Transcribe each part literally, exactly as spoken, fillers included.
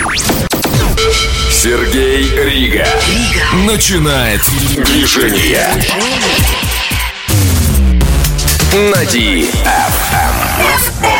Сергей Рига. Рига. Начинает движение. На ди эф эм.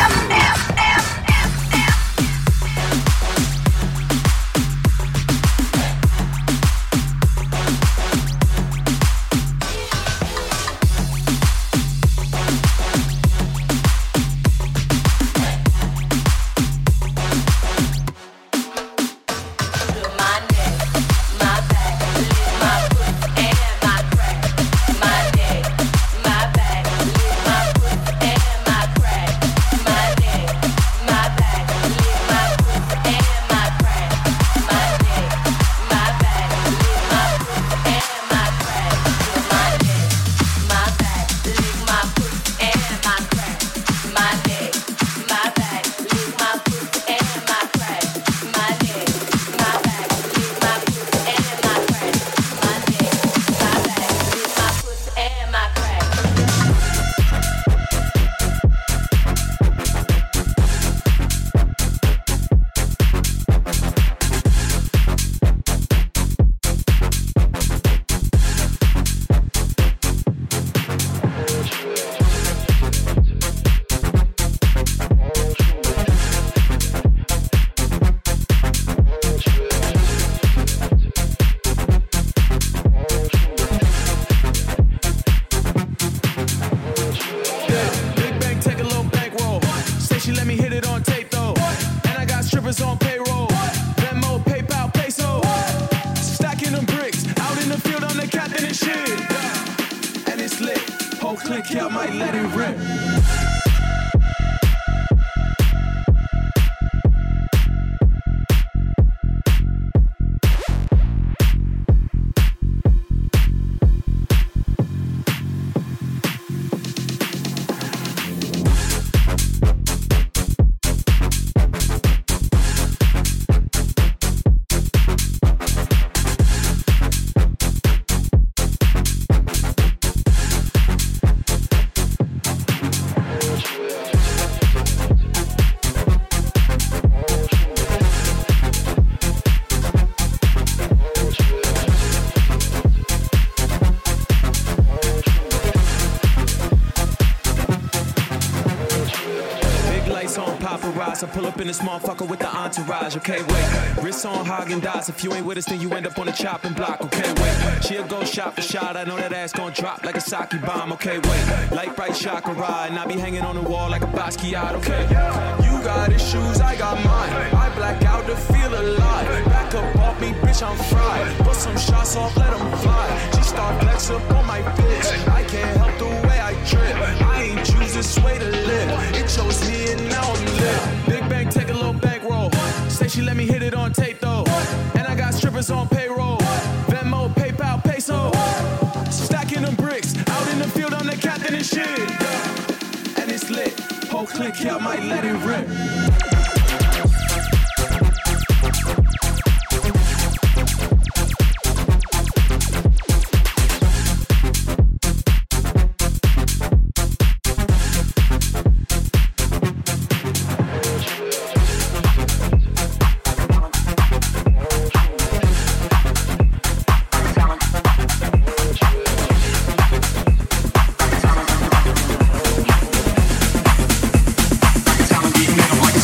I pull up in this motherfucker with the entourage, okay, wait. Wrists on Haagen-Dazs, if you ain't with us, then you end up on the chopping block, okay, wait. She'll go shot for shot, I know that ass gon' drop like a sake bomb, okay, wait. Light bright chakra, and I be hanging on the wall like a Basquiat, okay. You got issues, I got mine. I black out to feel alive. Back up off me, bitch, I'm fried. Put some shots off, let them fly. She start flex up on my bitch. I can't help the way I trip. I ain't choose this way to live. It chose me and now I'm lit. Big bang, take a little bankroll. Say she let me hit it on tape though. And I got strippers on payroll. Venmo, PayPal, peso. Stacking them bricks. Out in the field, I'm the captain and shit. And it's lit. Whole clique here, I might let it rip. Like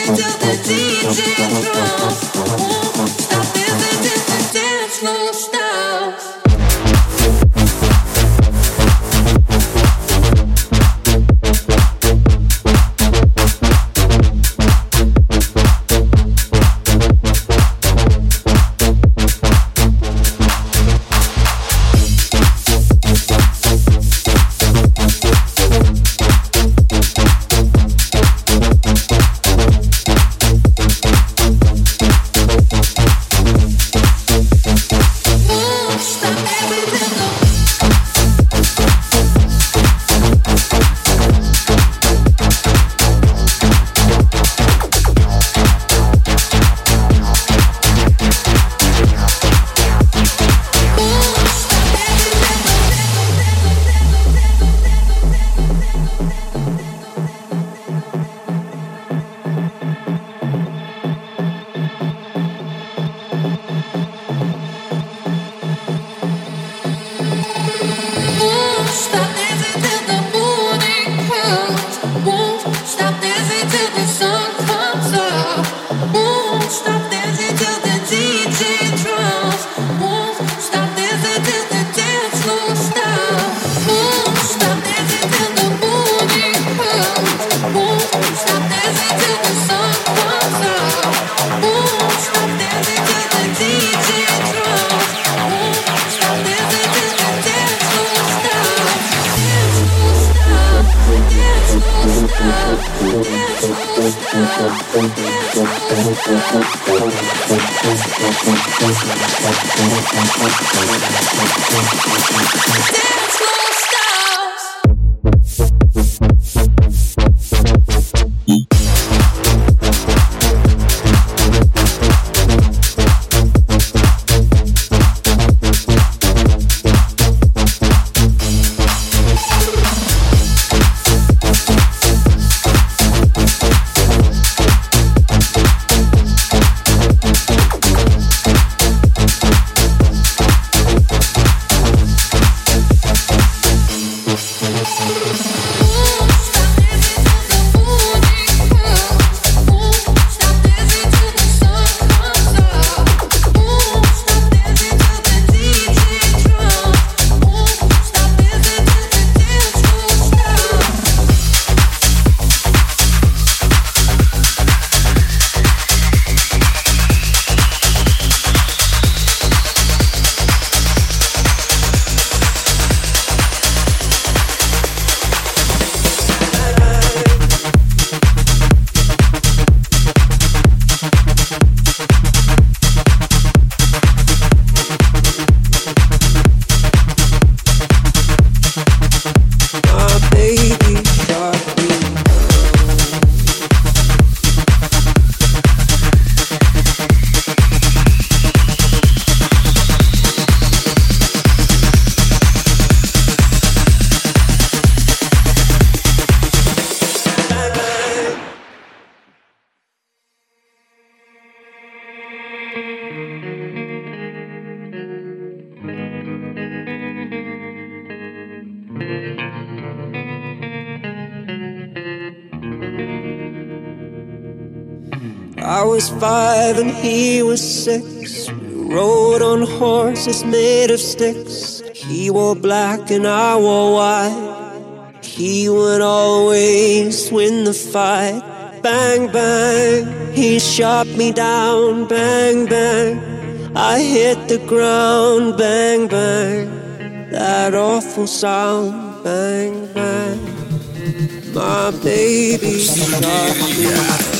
I was five and he was six. We rode on horses made of sticks. He wore black and I wore white. He would always win the fight. Bang, bang, he shot me down. Bang, bang, I hit the ground. Bang, bang, that awful sound. Bang, bang, my baby shot me.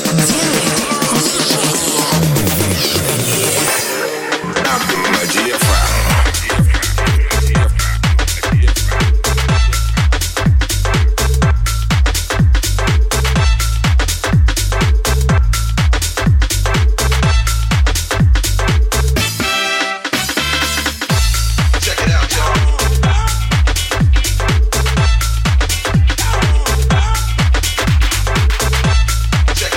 Check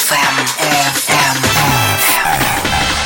эф эм, эф эм, эф эм.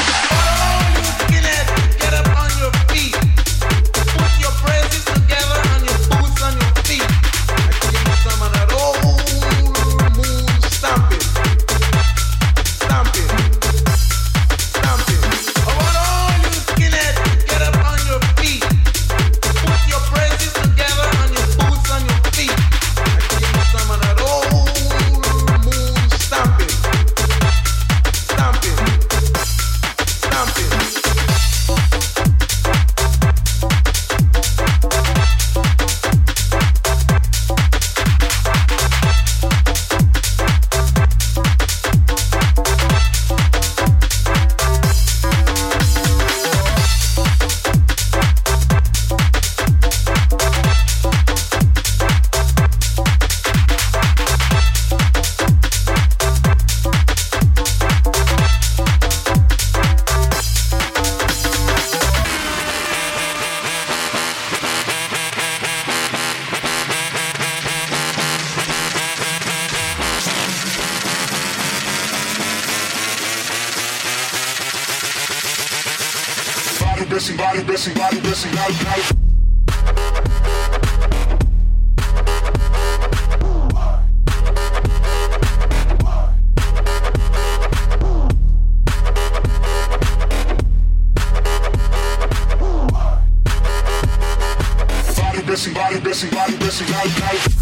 Body blessing, body blessing, body blessing. Body blessing, body blessing, body blessing, body blessing.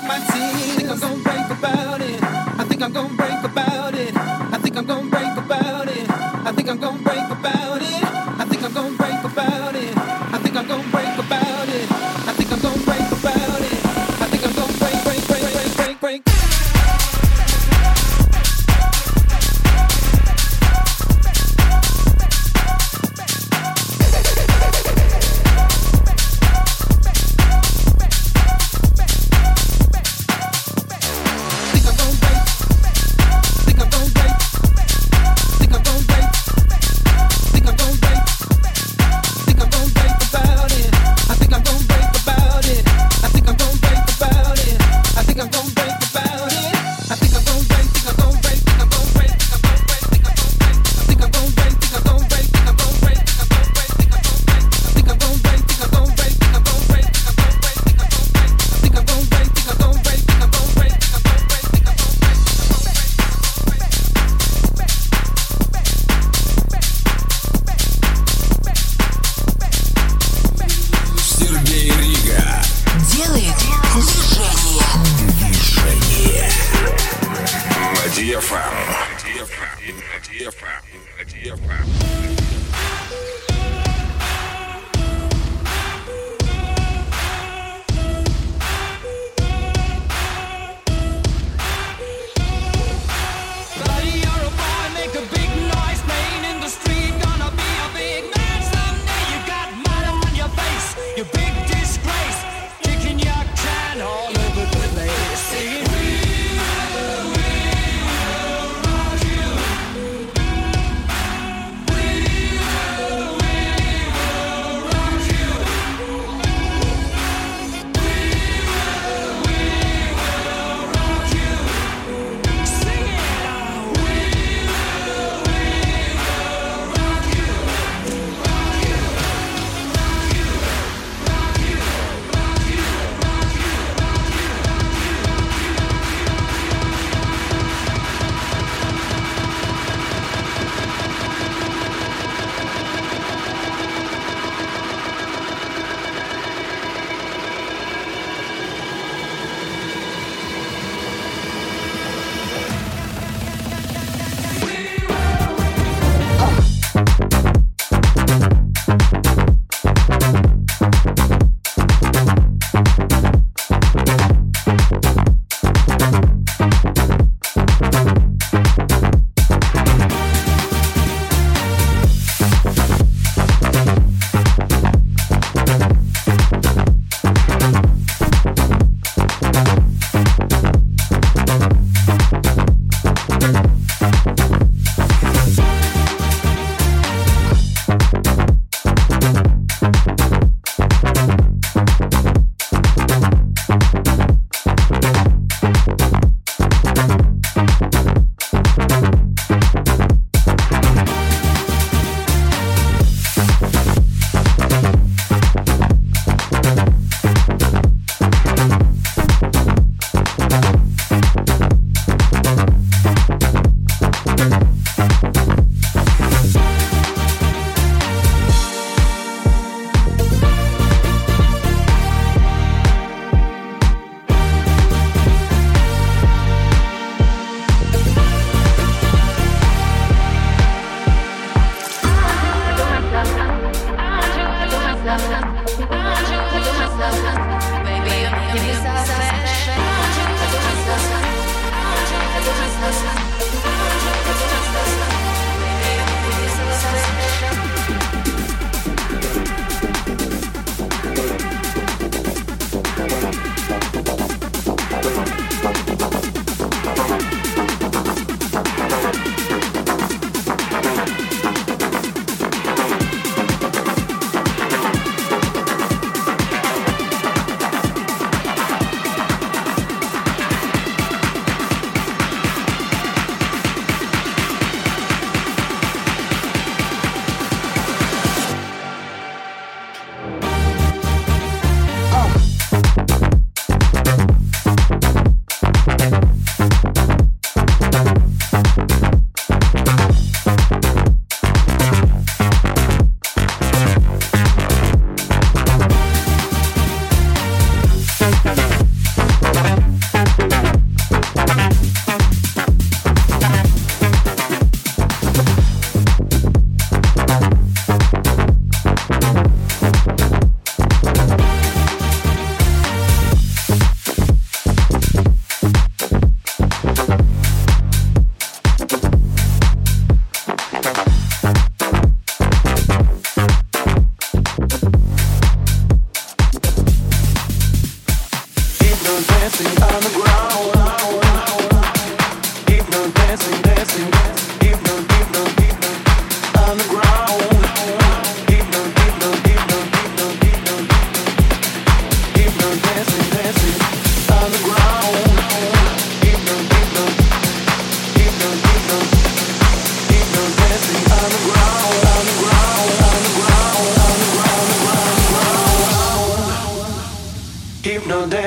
We'll be right back.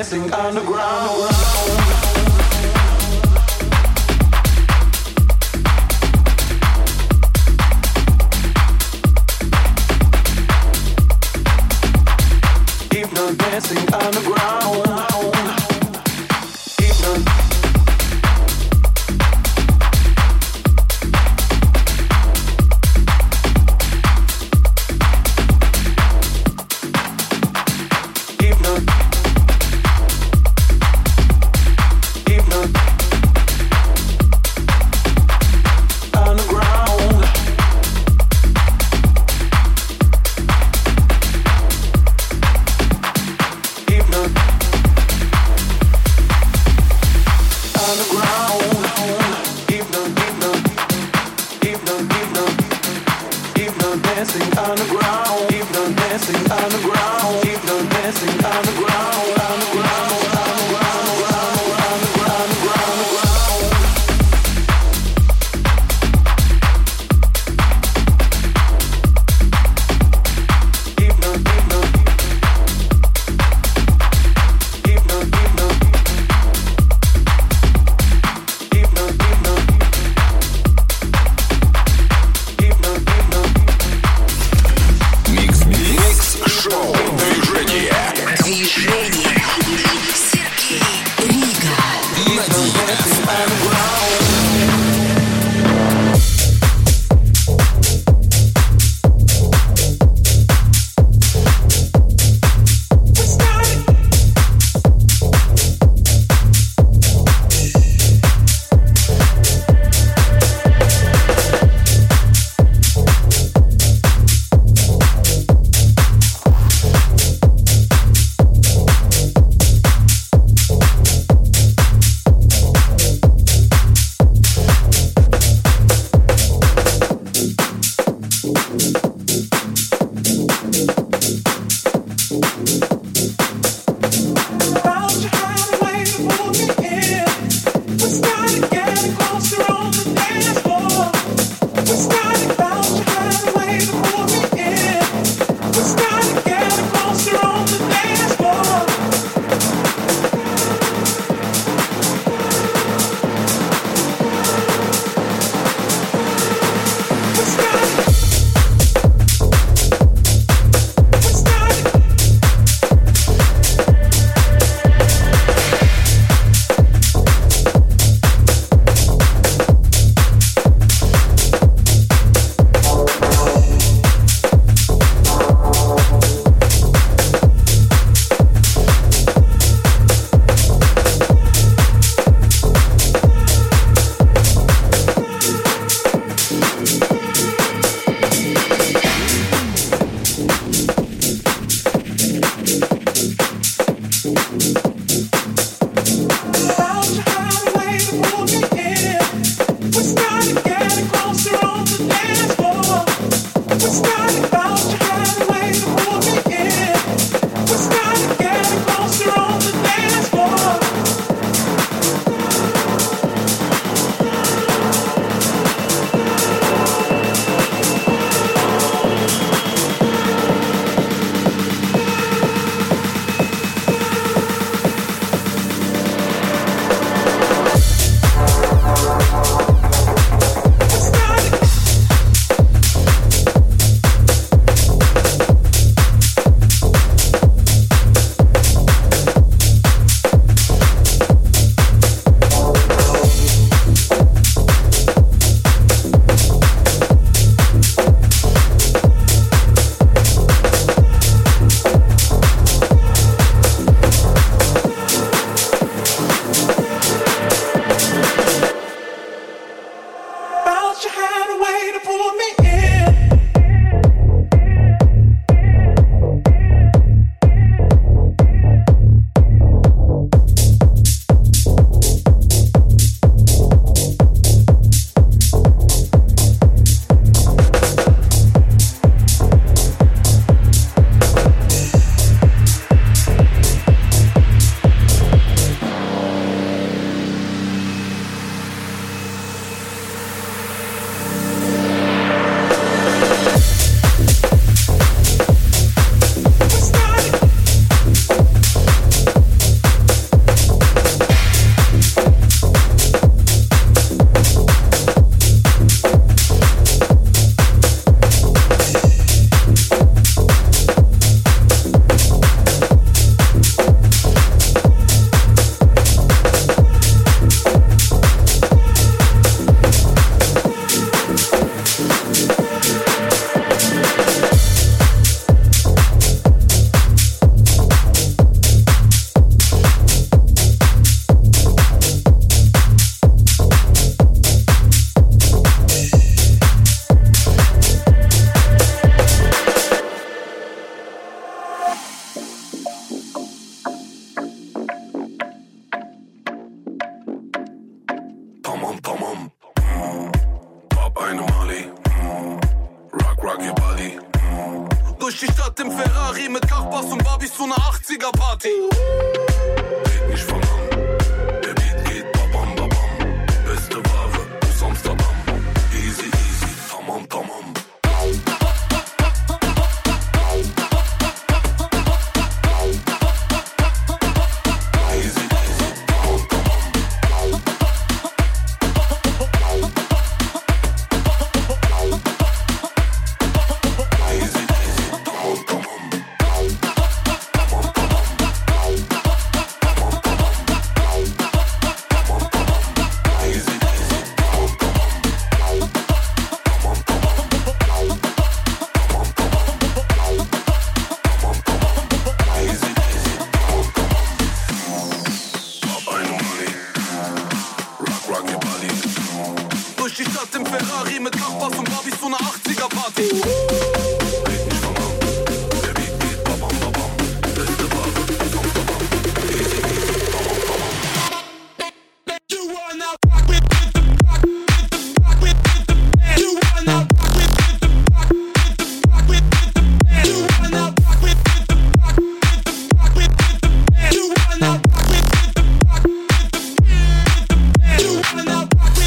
dancing underground. Dancing underground. Keep on. Keep on. im Ferrari mit Kachbass und Barbies zu ner achtziger-Party. Red nicht von an, der Beat geht babam babam. Beste Ware aus Amsterdam. Easy easy, tamam tamam. Durch die Stadt im Ferrari mit Kachbass und Barbies zu ner achtziger-Party. Red nicht von an, der Beat geht babam babam. Beste Ware aus Amsterdam. Easy easy, tamam tamam. You wanna rock with the rock with the rock with the band. You wanna rock with the rock with the rock with the band. You wanna rock with the rock with the rock with the band. You wanna rock with the rock with the band. You wanna rock with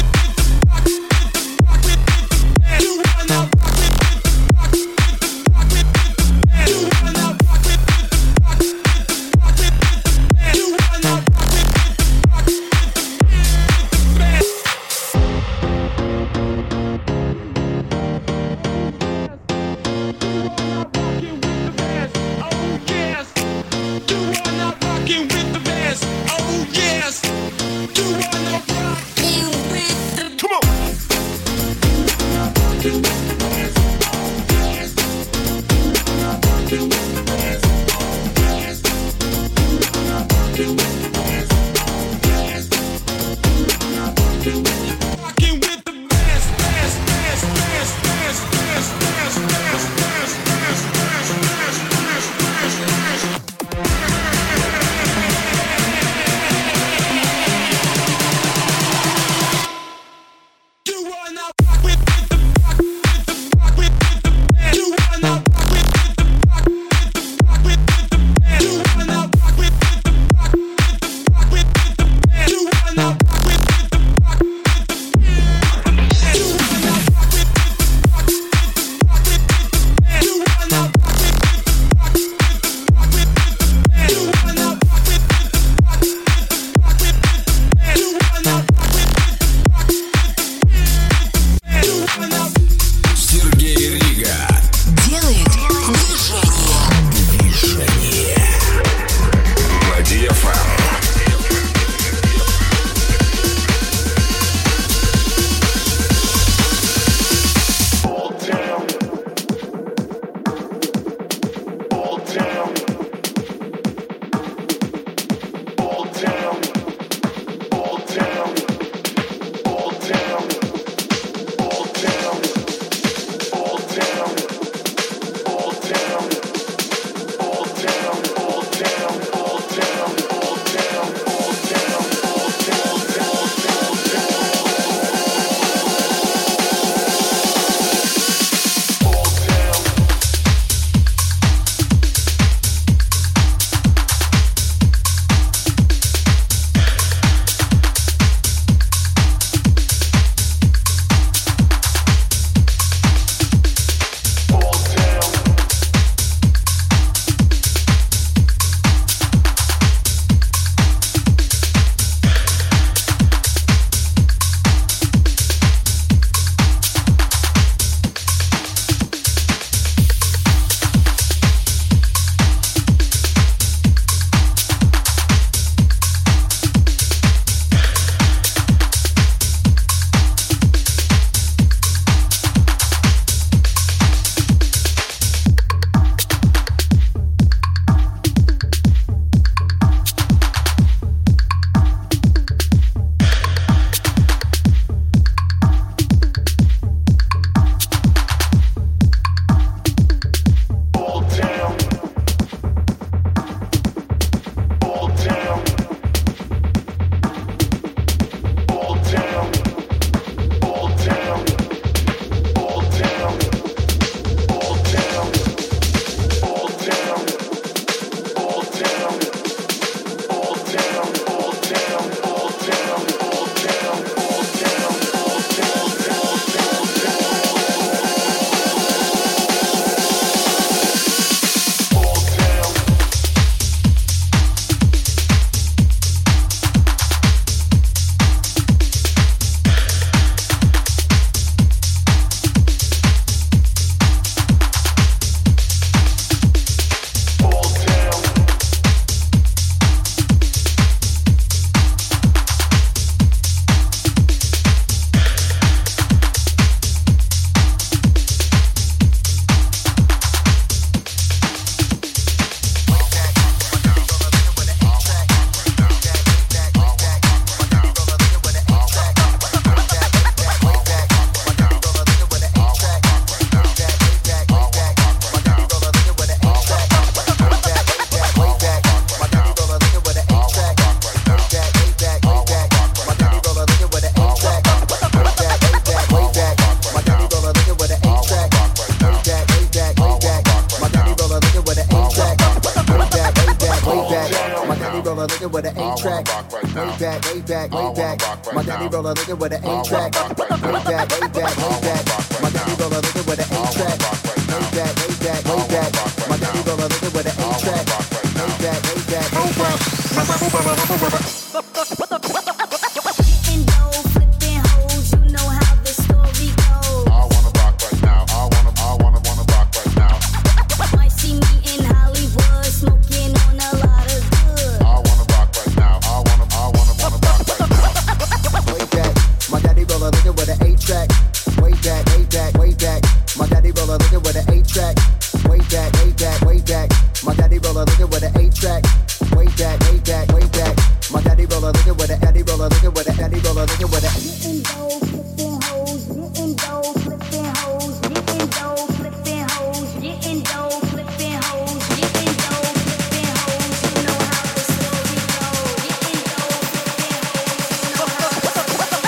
right now. Way back, way back, I way wanna back. rock right My daddy now. roll a nigga with an I wanna eight-track. rock right now. Way back, way back, I way wanna back. rock right My daddy now. roll a nigga with an I wanna eight-track. rock right now. Way back, way back, I way wanna back. rock right My daddy now. roll a nigga with an I wanna eight-track. rock right now. Way back, way back, way back. Getting dough, flipping hoes, you know how the story goes. I wanna rock right now. I wanna, I wanna, wanna rock right now. Might see me in Hollywood, smoking on a lot of good. I wanna rock right now. I wanna, I wanna, wanna rock right now. Way back, my daddy roll a nigga with an eight-track. Way back, way back, way back. My daddy roll a nigga with an eight-track. Way back, way back, way back. My daddy roll a nigga with an eight-track. Way back, way back, way back. My daddy roll a nigga with a daddy roll a nigga with a daddy roll a nigga with a. Getting dough, flipping hoes, getting dough, flipping hoes, getting dough, flipping hoes, getting dough, flipping hoes, getting dough, flipping hoes. You know how the story goes. Getting dough, flipping hoes, you know how the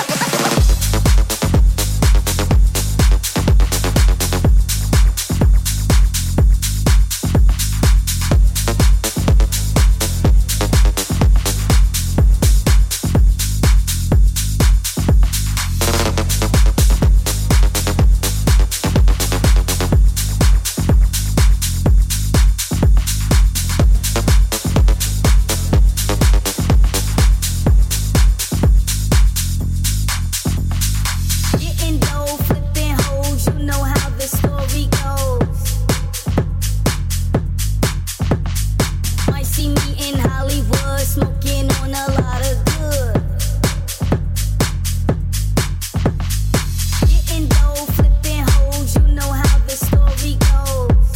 Getting dough, flipping hoes, you know how the story goes. Might see me in Hollywood, smoking on a lot of good. Getting dough, flipping hoes, you know how the story goes.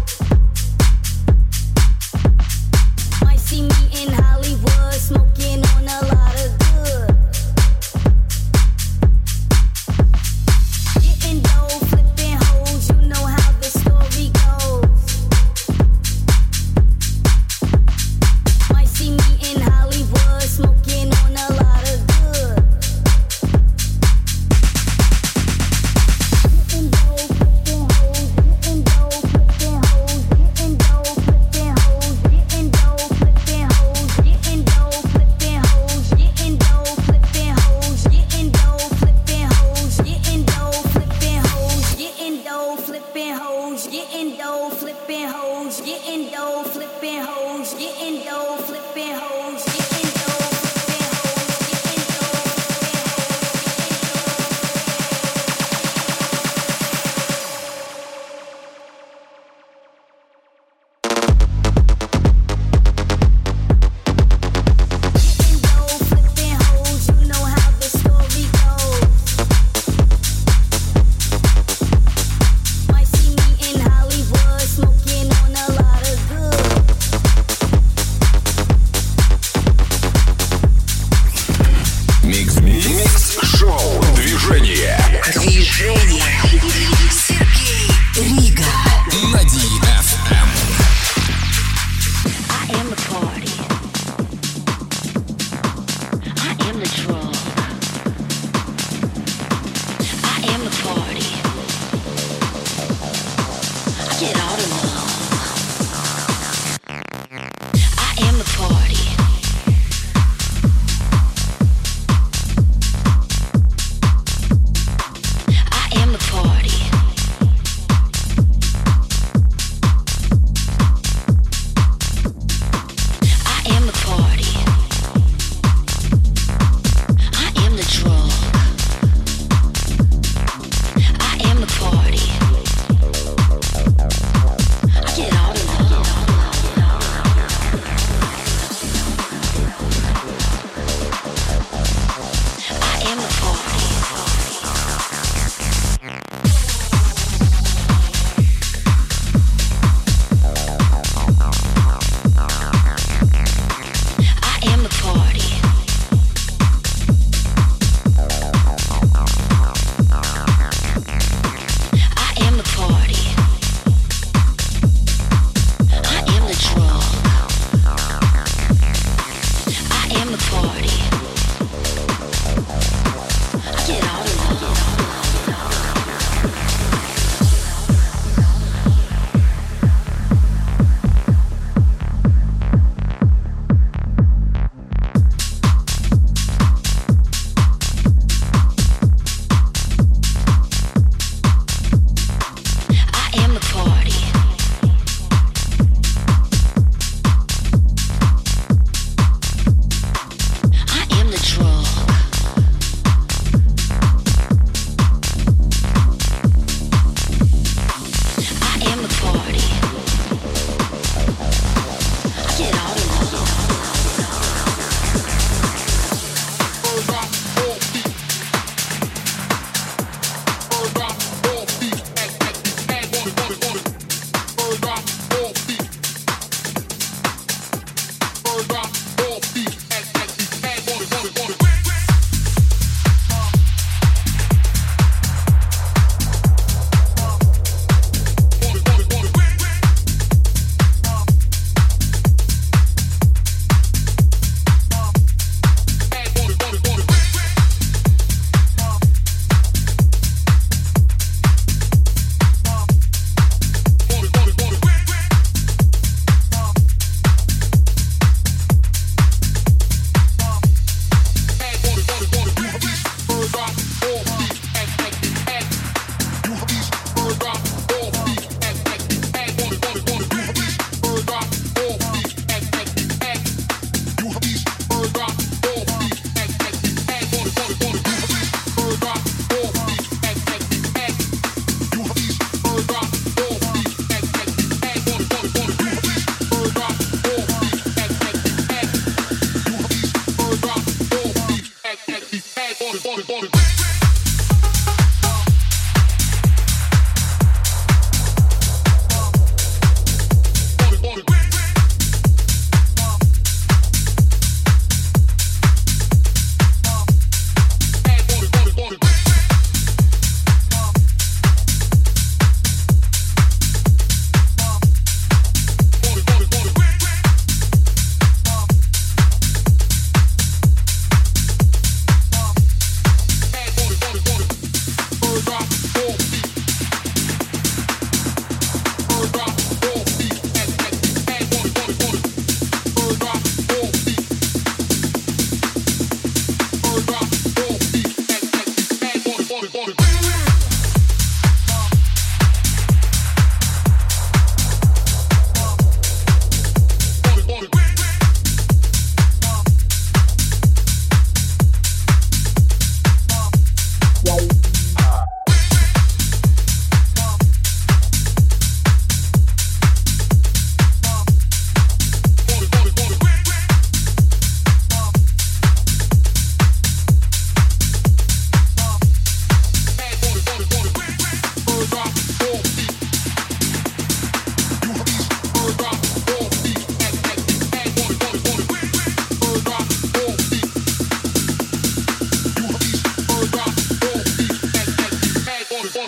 Might see me in Hollywood, smoking on a lot of good. Getting dough, flipping hoes, you know how the story goes. Might see me in Hollywood, smoking on a lot of good. Getting dough, flipping hoes, getting dough, flipping hoes, getting dough, flipping hoes, getting dough, flipping hoes, getting dough, flipping hoes, getting dough, flipping hoes, getting dough, flipping hoes, getting dough, flipping hoes, getting dough, flipping hoes, getting dough, flipping hoes, getting dough, flipping hoes, getting dough, flipping hoes, getting dough, flipping hoes, getting dough, flipping hoes, getting dough. Getting dough, flipping hoes, you know how the story goes. Might see me in Hollywood, smoking on a lot of good. Микс Микс Шоу. Движение. Движение. Сергей Рига. На ди эф эм. I am the party. I am the drug. I am the party. I get all the love. I am the party.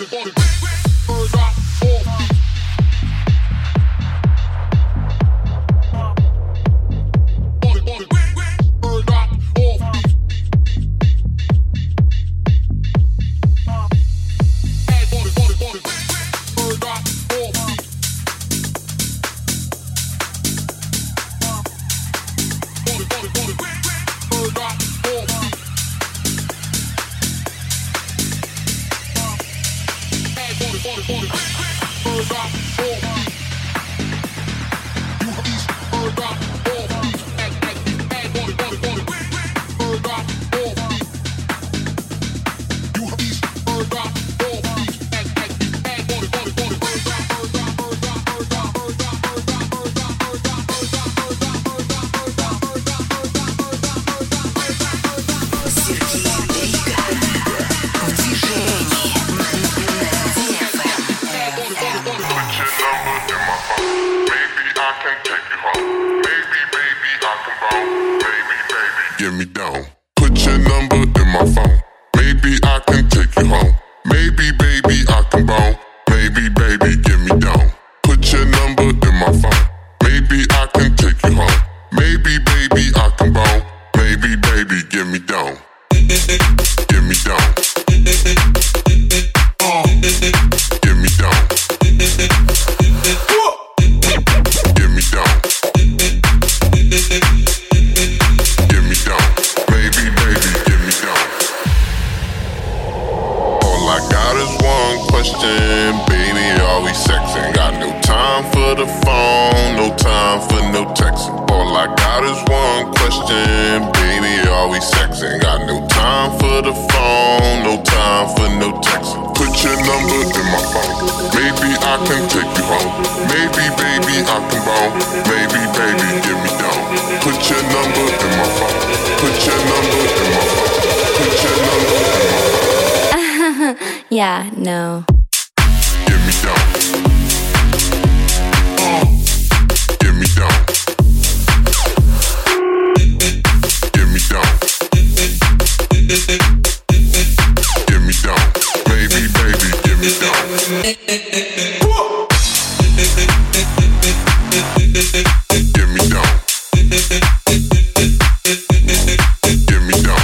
Yeah, no. Get me down. Get me down. Get me down. Get me down. Baby, baby, get me down. Get me down. Get me down.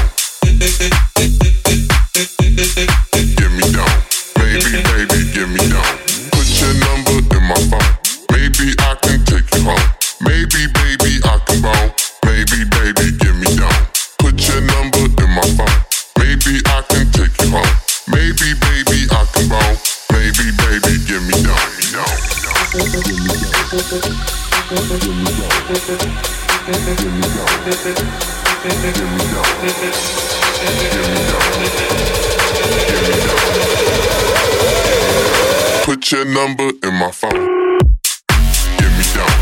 Get me down. Baby, baby, get me down. Put your number in my phone. Maybe I can take you home. Maybe, baby, I can bone. Maybe, baby, get me down. Put your number in my phone. Maybe I can take you home. Maybe, baby, I can bone. Maybe, baby, get me down. Put your number in my phone. Get me down.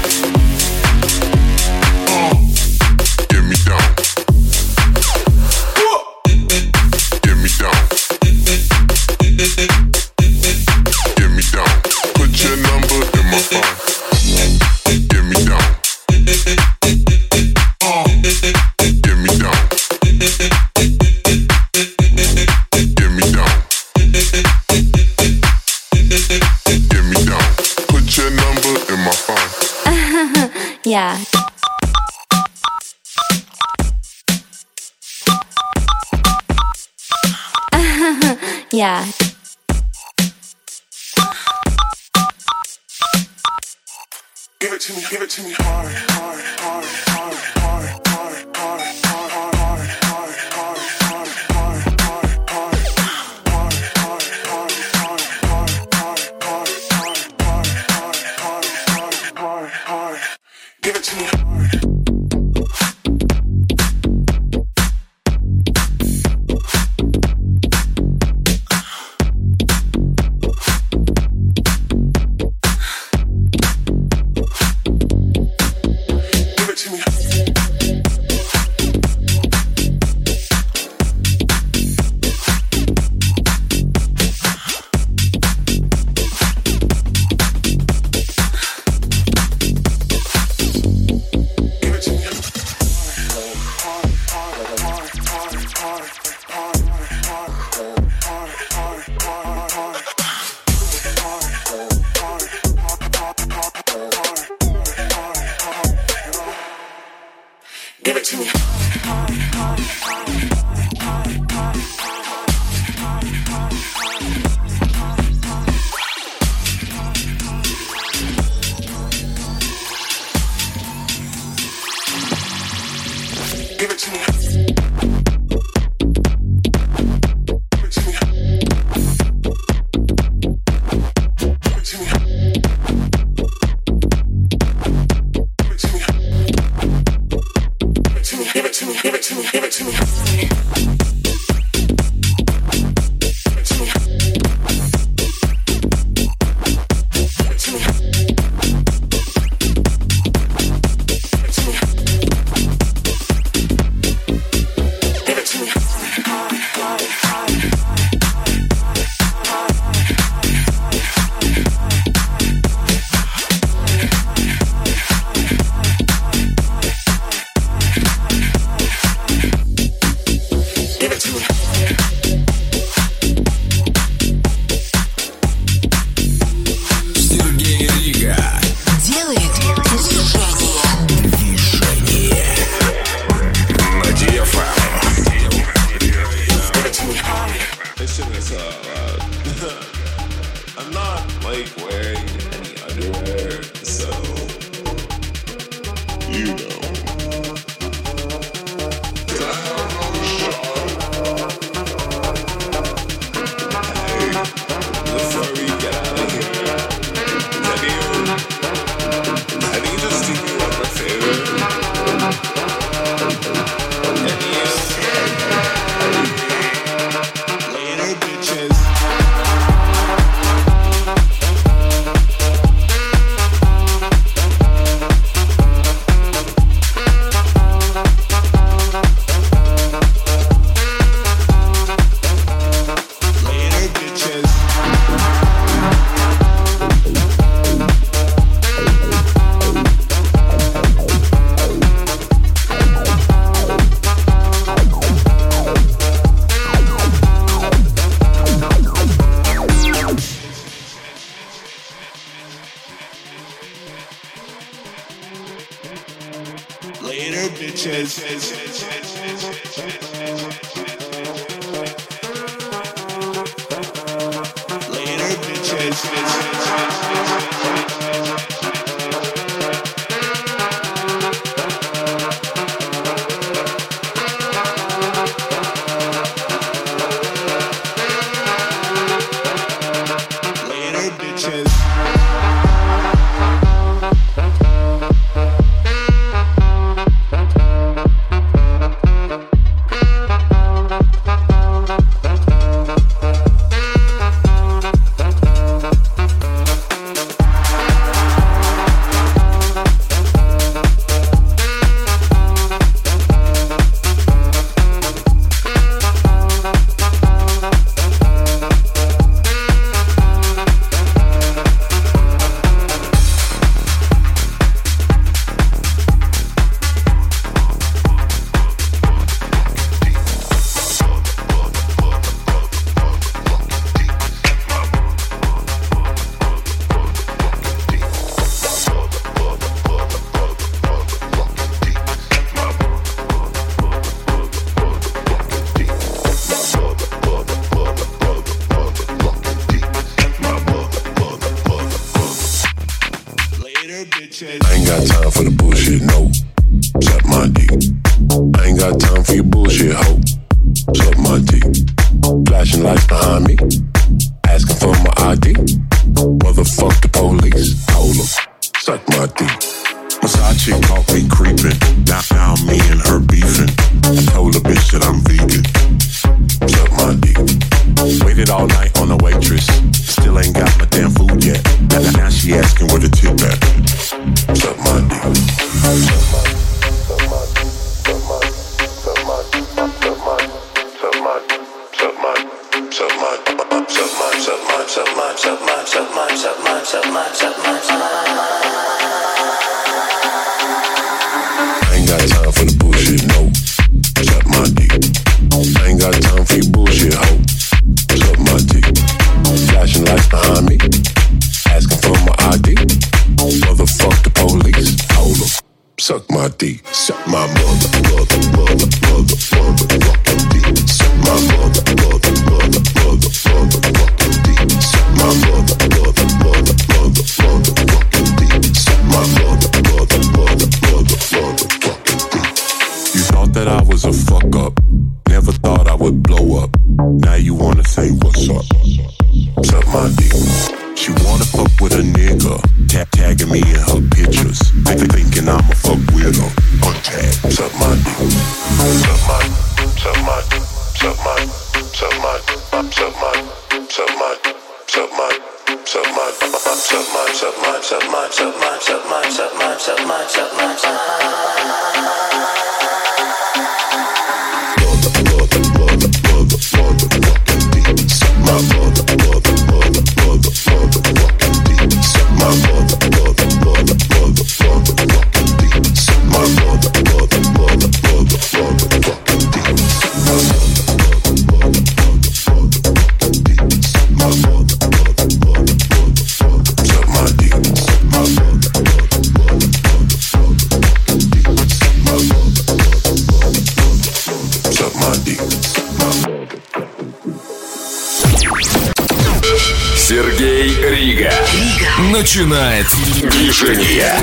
Get me down. Get me down. Get me down. Put your number in my phone. Get me down. Get me down. Get me down. Get me down. Put your number in my phone. Yeah. Yeah. Give it to me, give it to me hard, hard, hard, hard, hard, hard, hard, hard, hard, hard, hard, hard, hard, hard, hard, hard, hard. Give it to me hard. Give it to me. Сергей Рига Делает движение. Движение на ди эф эм. This shit is, uh, I'm not, like, wearing any underwear, so, you know. Hey, before we get out of here, have you, have you just do me one more favor? Can you, later, bitches. Later, bitches. Later, bitches. Later, bitches. I ain't got time for the bullshit, no. Suck my dick. I ain't got time for your bullshit, ho. Suck my dick. Flashing lights behind me, asking for my I D. Motherfuck the police, hold up. Suck my dick. Versace caught me creeping. Now, now me and her beefing. I told the bitch that I'm vegan. Suck my dick. Waited all night on the waitress. Still ain't got my damn food yet. Now, now she asking where the tip at. Suck my dick. Suck my, suck my, suck my, suck my, suck my, suck my, suck my, suck my, suck my, suck my, suck my, suck my, suck my, suck my, suck my, suck my, suck my. I ain't got time for the bullshit, no. Suck my dick. I ain't got time for your bullshit, ho. Suck my dick. Flashing lights behind me, asking for my I D. Motherfuck the police, hold up. Suck my dick. Suck my mother, mother, mother, mother, mother, fucking dick. Suck my mother, mother, mother, mother, mother, fucking dick. Suck my mother, mother, mother, mother, mother, fucking dick. Suck my mother, mother, mother, mother, mother, fucking dick. You thought that I was a fuck up. Never thought I would blow up. Now you wanna say what's up? Suck my dick. She wanna fuck with a nigga, tap tagging me in her pictures, thinking I'ma fuck with her. Untag, suck my dick. Suck my, suck my, suck my, suck my, suck my, suck my, suck my, suck my, suck my, suck my, suck my, suck my, suck my, suck my, suck my, suck my, suck my, suck my. Mother, mother, mother, mother, mother, fucking dick. Сергей Рига. Рига. Начинает движение.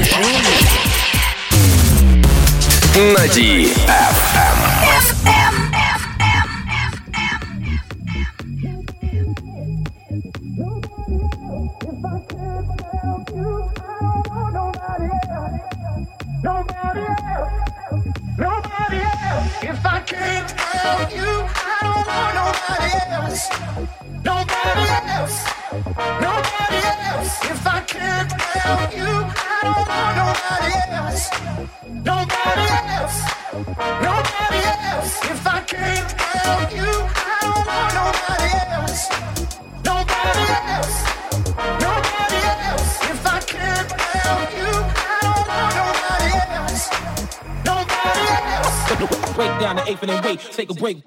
На ди эф эм. Break down the eighth and then wait, take a break.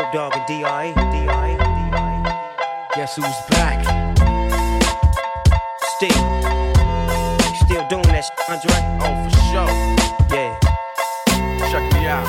Snoop Dogg and D R E. D R E. D R E. Guess who's back? Steve. You still doing that shit, Andre? Oh, for sure. Yeah. Check me out.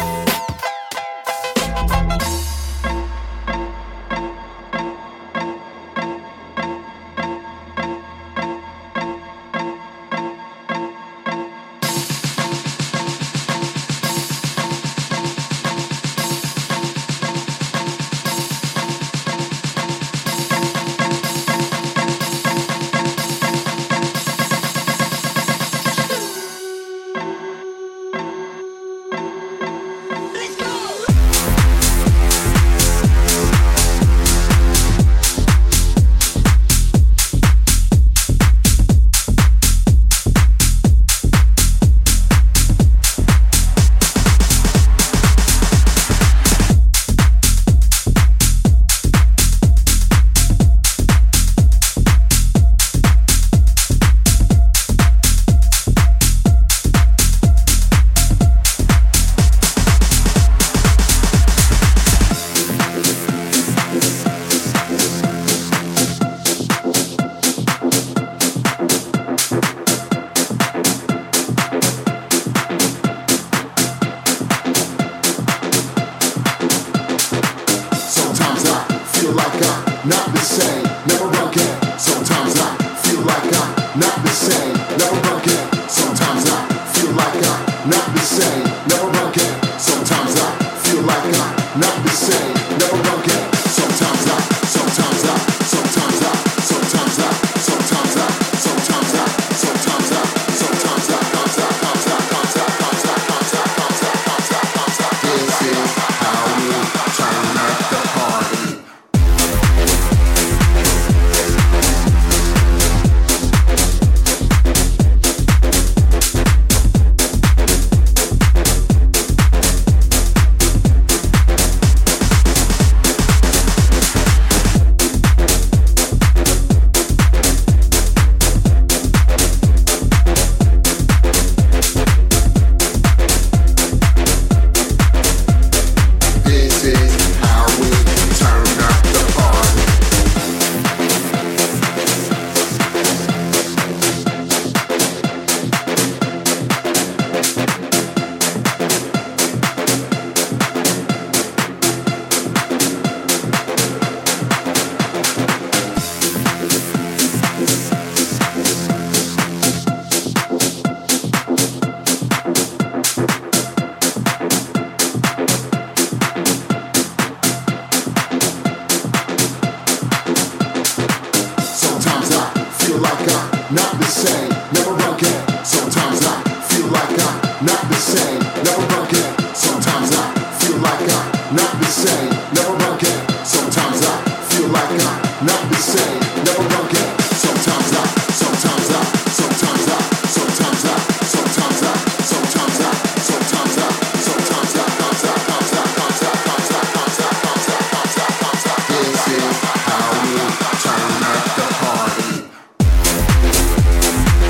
How we turn up the party.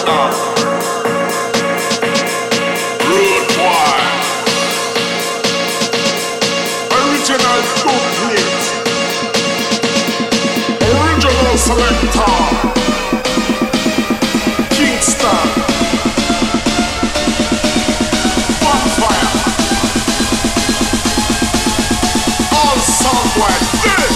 murder. Rude boy. Original duplicate. Original selector. Kingston. Bonfire. All sound like this.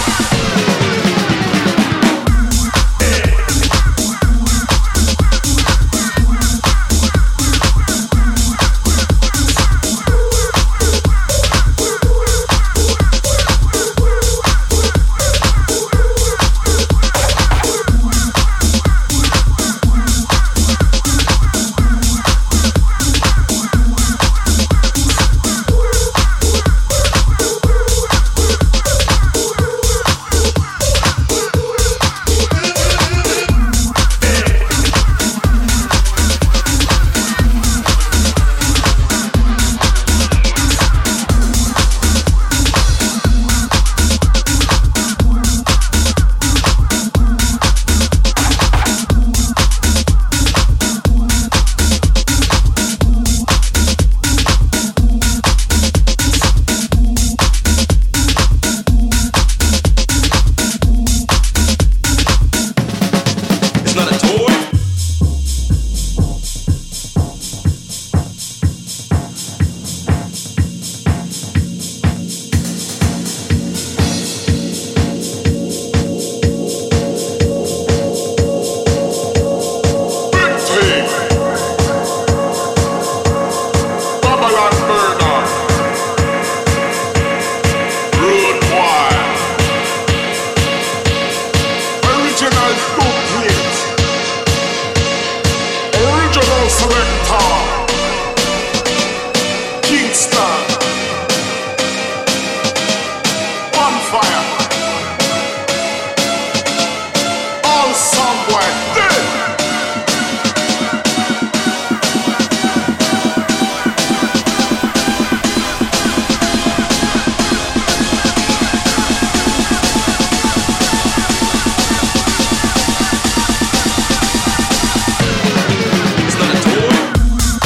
It's not a toy.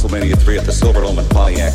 WrestleMania three at the Silverdome in Pontiac.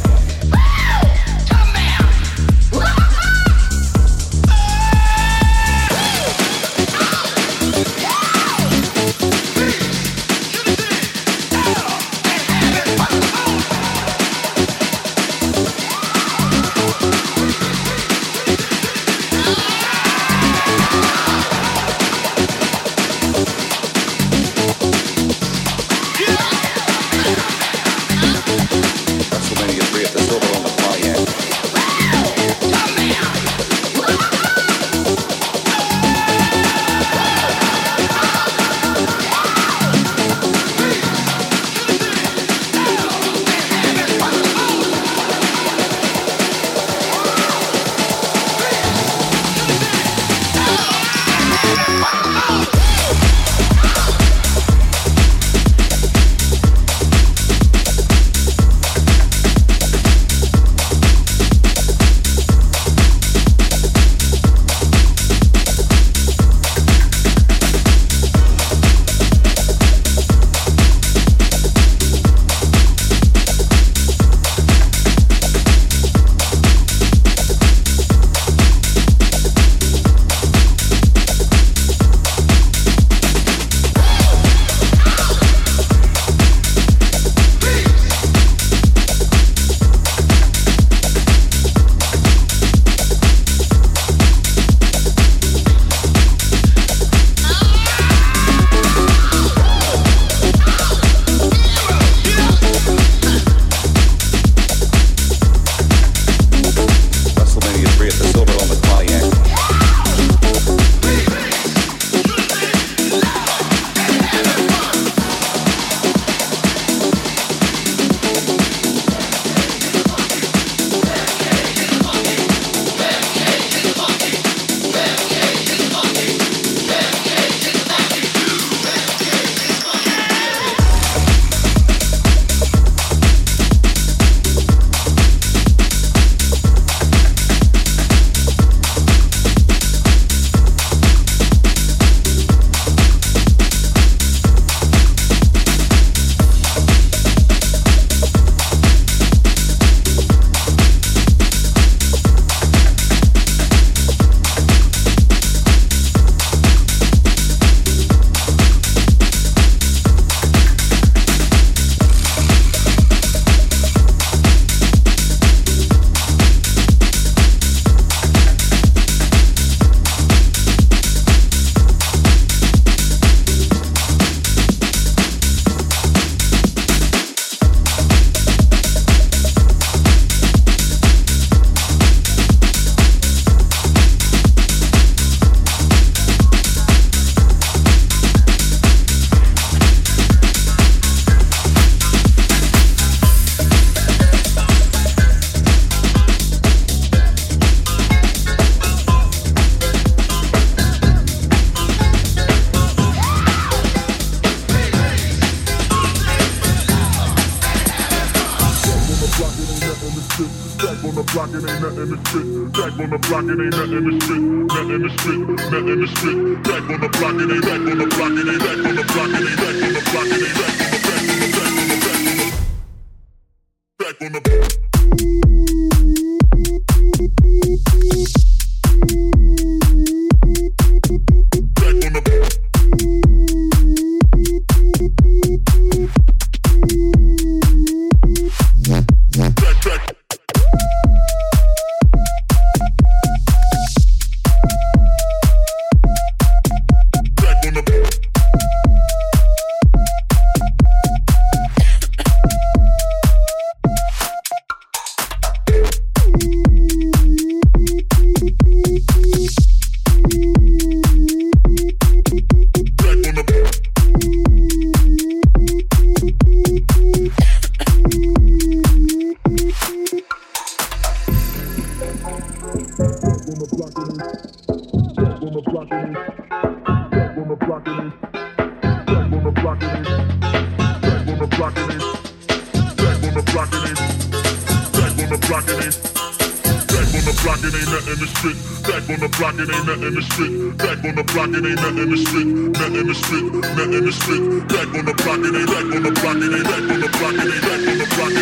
Back on the block, it ain't back on the block, it ain't back on the block, it ain't back on the block.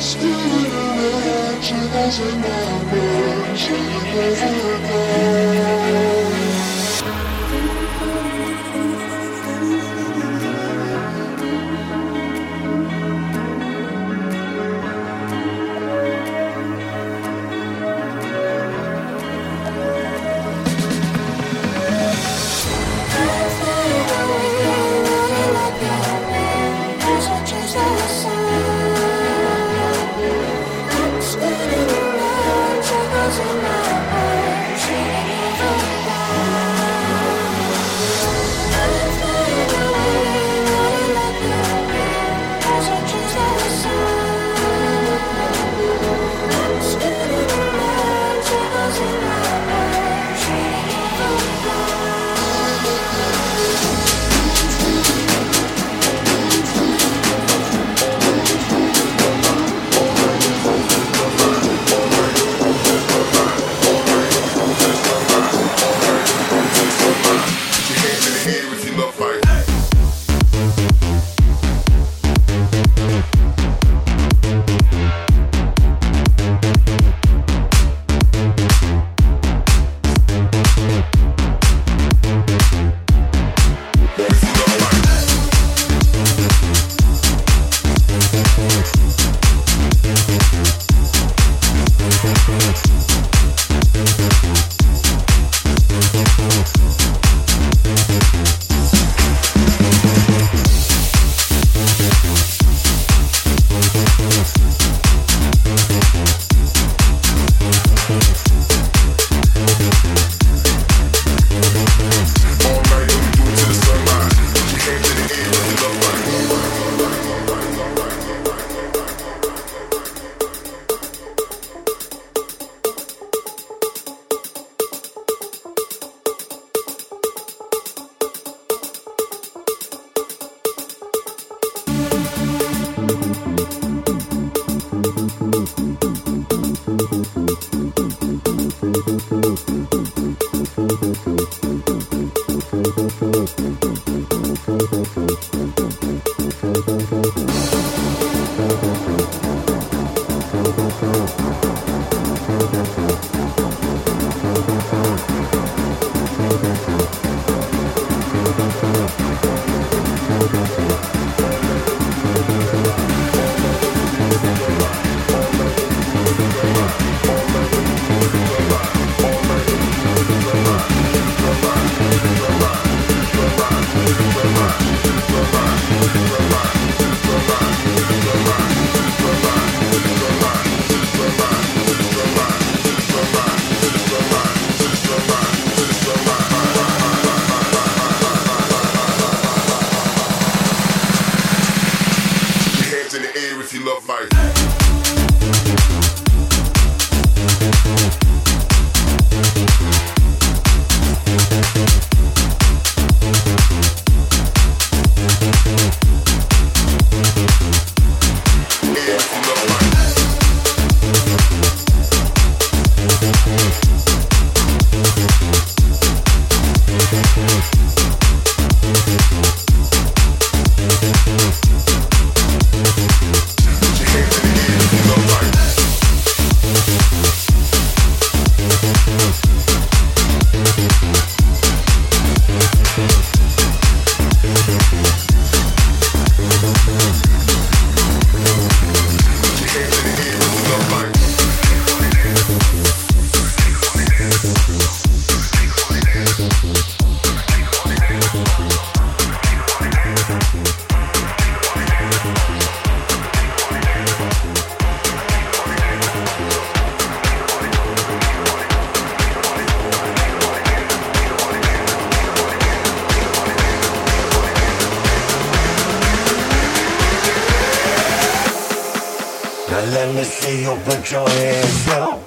Let me see you put your hands up.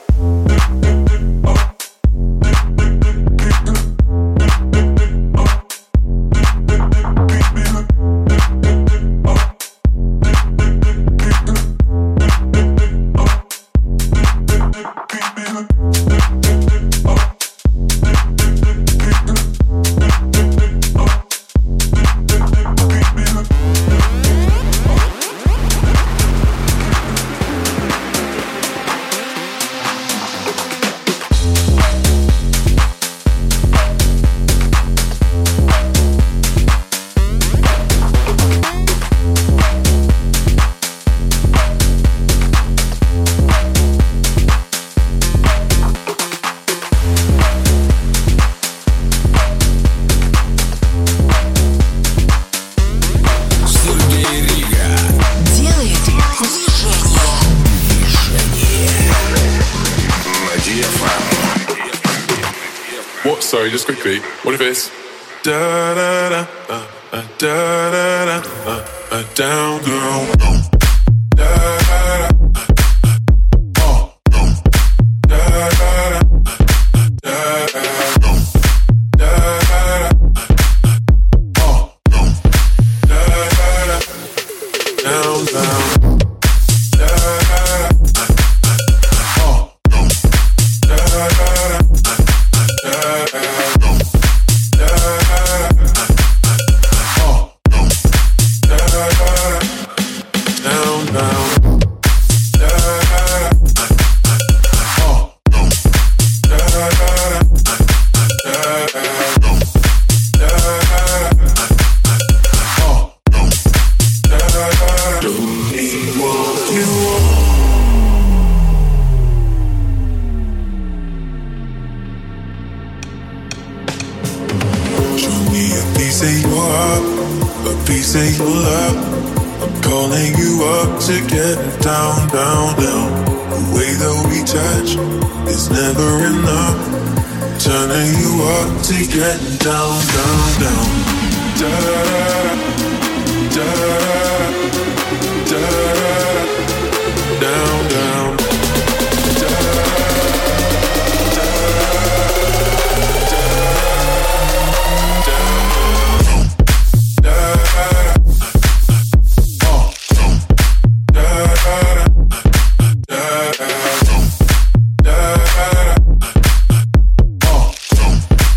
sorry, just quickly. What if it's da da da uh, uh, da da da uh, uh, down girl. Da da da.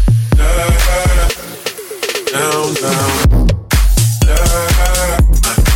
Down, down.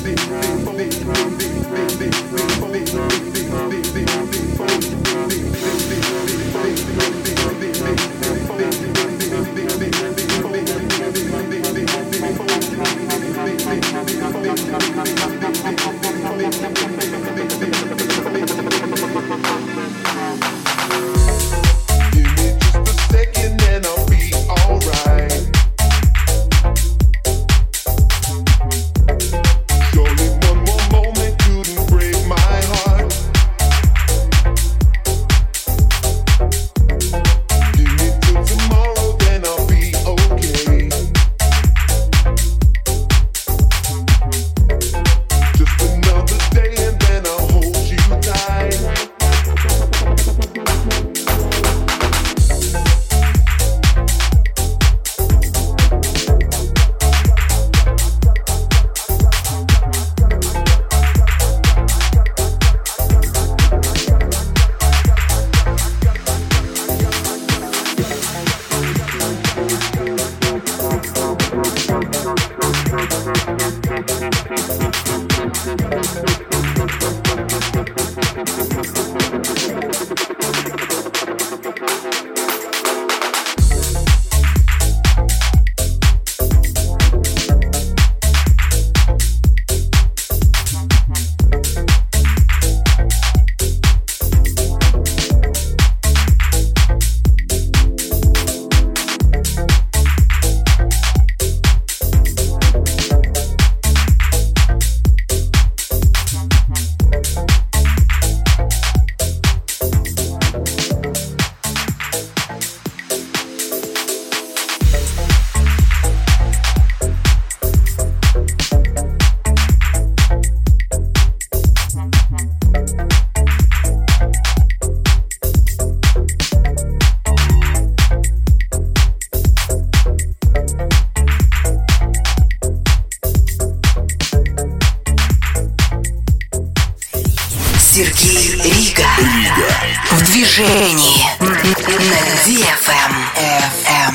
Сергей Рига. Рига. В движении. На ди эф эм. эф эм.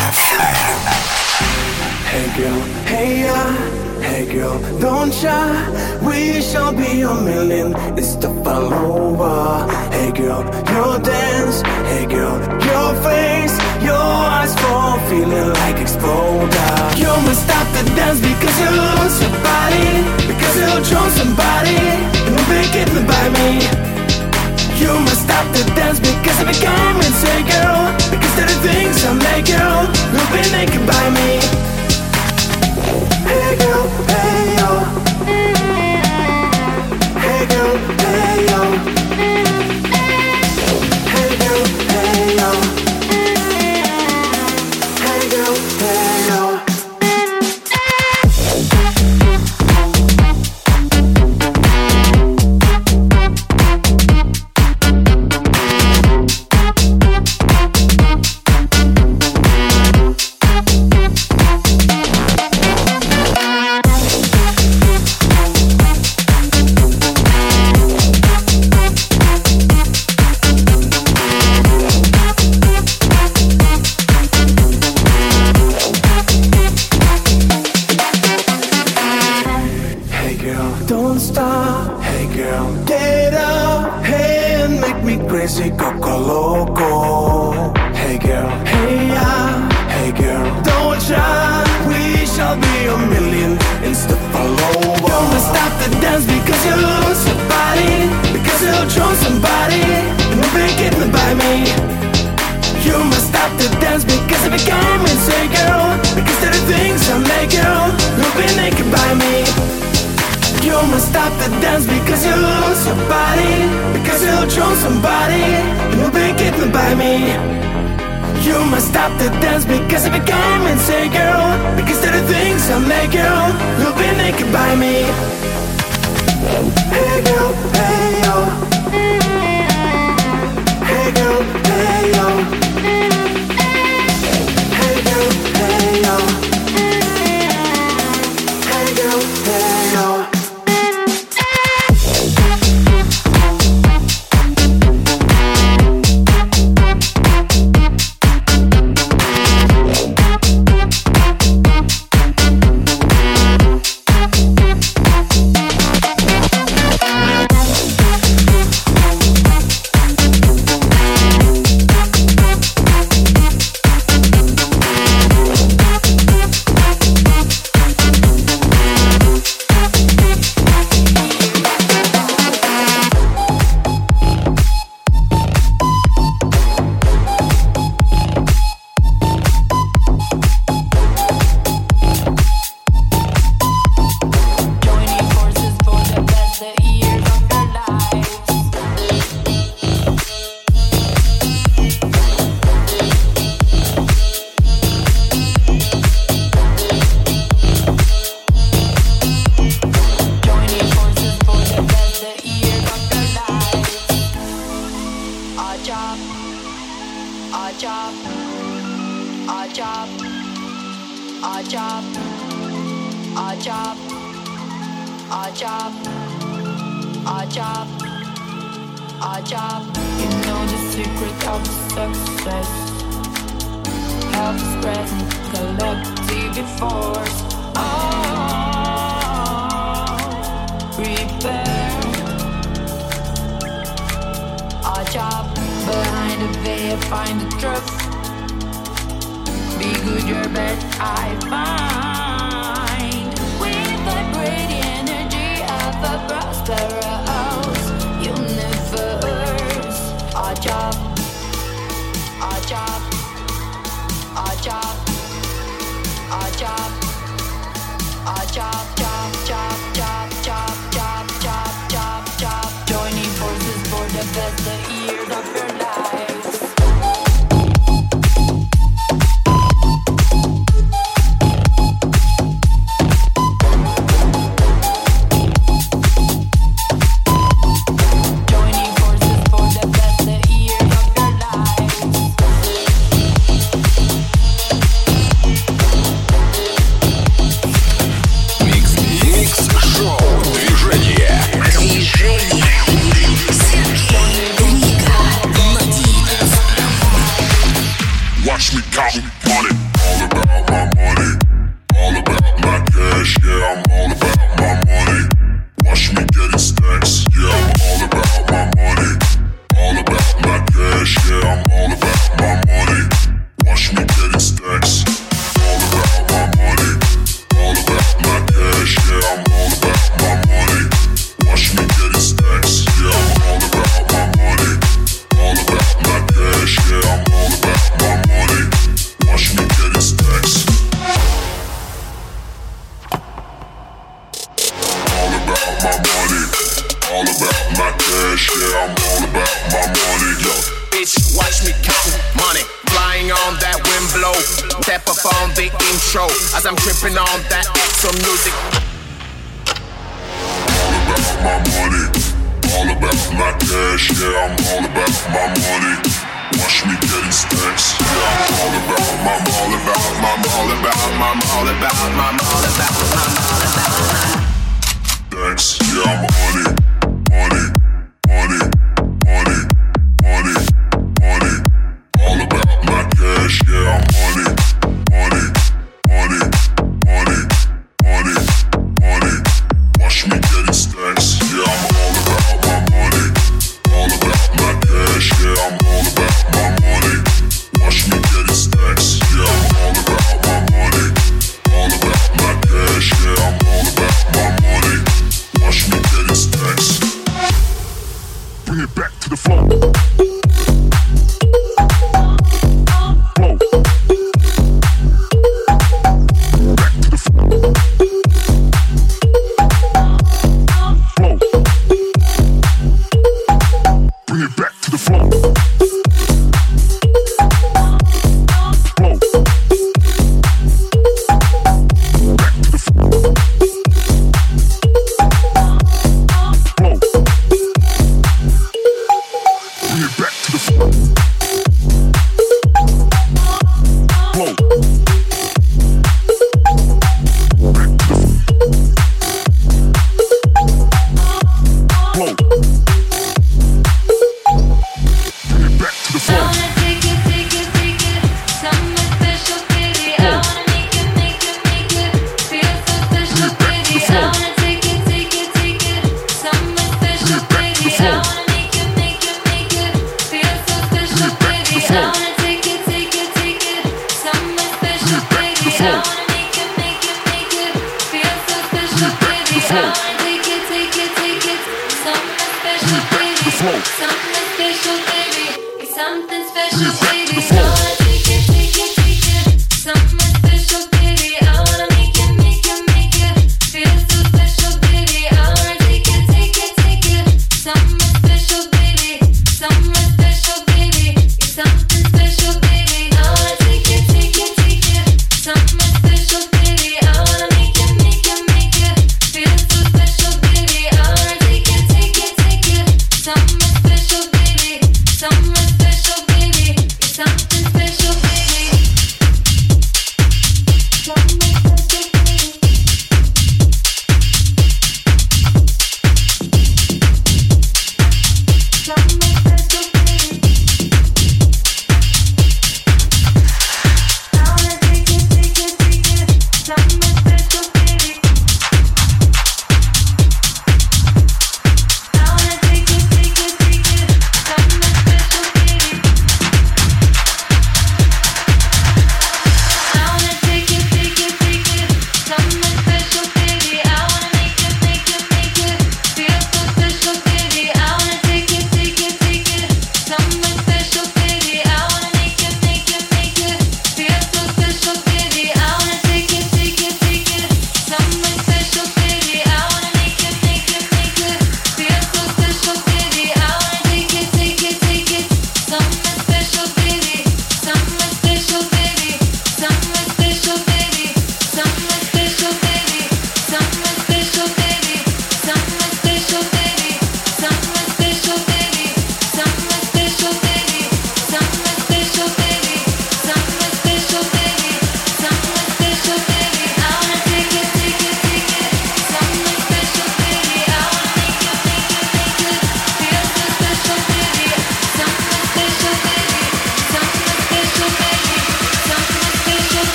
Hey girl, hey ya, hey girl, don't shy. We shall be a million. It's the follower. Hey girl, your dance. Hey girl, your face. Your eyes fall, feeling like exploder. You must stop the dance because you lose your body. Because you'll draw somebody and will be getting by me. You must stop the dance because I became insane, girl. Because there are things I make, girl, who'll be naked by me. Hey girl, hey yo. Hey girl, hey yo. Hey girl, hey yo. Hey girl, hey yo. our job, our job, our job. You know the secret of success. Help spread collective force. Oh, prepare. Our job, behind the veil, find the truth. Be good, your best I find. We vibrate the energy of a prosperous universe. Our job, our job, our job, our job, our job, job, job, job, job, job, job, job, job. Joining forces for the best years of your lives. Watch me count money, all about my money, all about my cash, yeah, I'm all about my money. Watch me getting stacks, yeah, I'm all about my money, all about my cash, yeah, I'm all about my money. Watch me getting stacks, all about my money, all about my cash, yeah, I'm all about my money. Watch me getting stacks, yeah, I'm all about my money, all about my cash, yeah, I'm all about my money. Watch me getting stacks. All about my money, all about my cash, yeah, I'm all about my money, yo. Bitch, watch me count money, flying on that wind blow. Step up on the intro, as I'm tripping on that extra music. All about my money, all about my cash, yeah, I'm all about my money. Watch me getting stacks, yeah, I'm all about, I'm all about, I'm all about, I'm all about, I'm all about, I'm all about. Stacks, yeah, I'm money, money, money, money, money, money. All about my cash, yeah, I'm money, money, money, money, money, money. Watch me getting stacks, yeah, I'm all about my money, all about my cash, yeah, I'm all about my money. Watch me getting stacks, yeah, I'm all about my money, all about my cash, yeah, I'm all about my money. Watch me getting stacks. Bring it back to the floor. Flow. Back to the floor. Flow. Bring it back to the floor. Flow. Back to the floor. Flow. Bring it back to the floor. Flow. Back to the floor. Flow. Bring it back to the floor. Flow.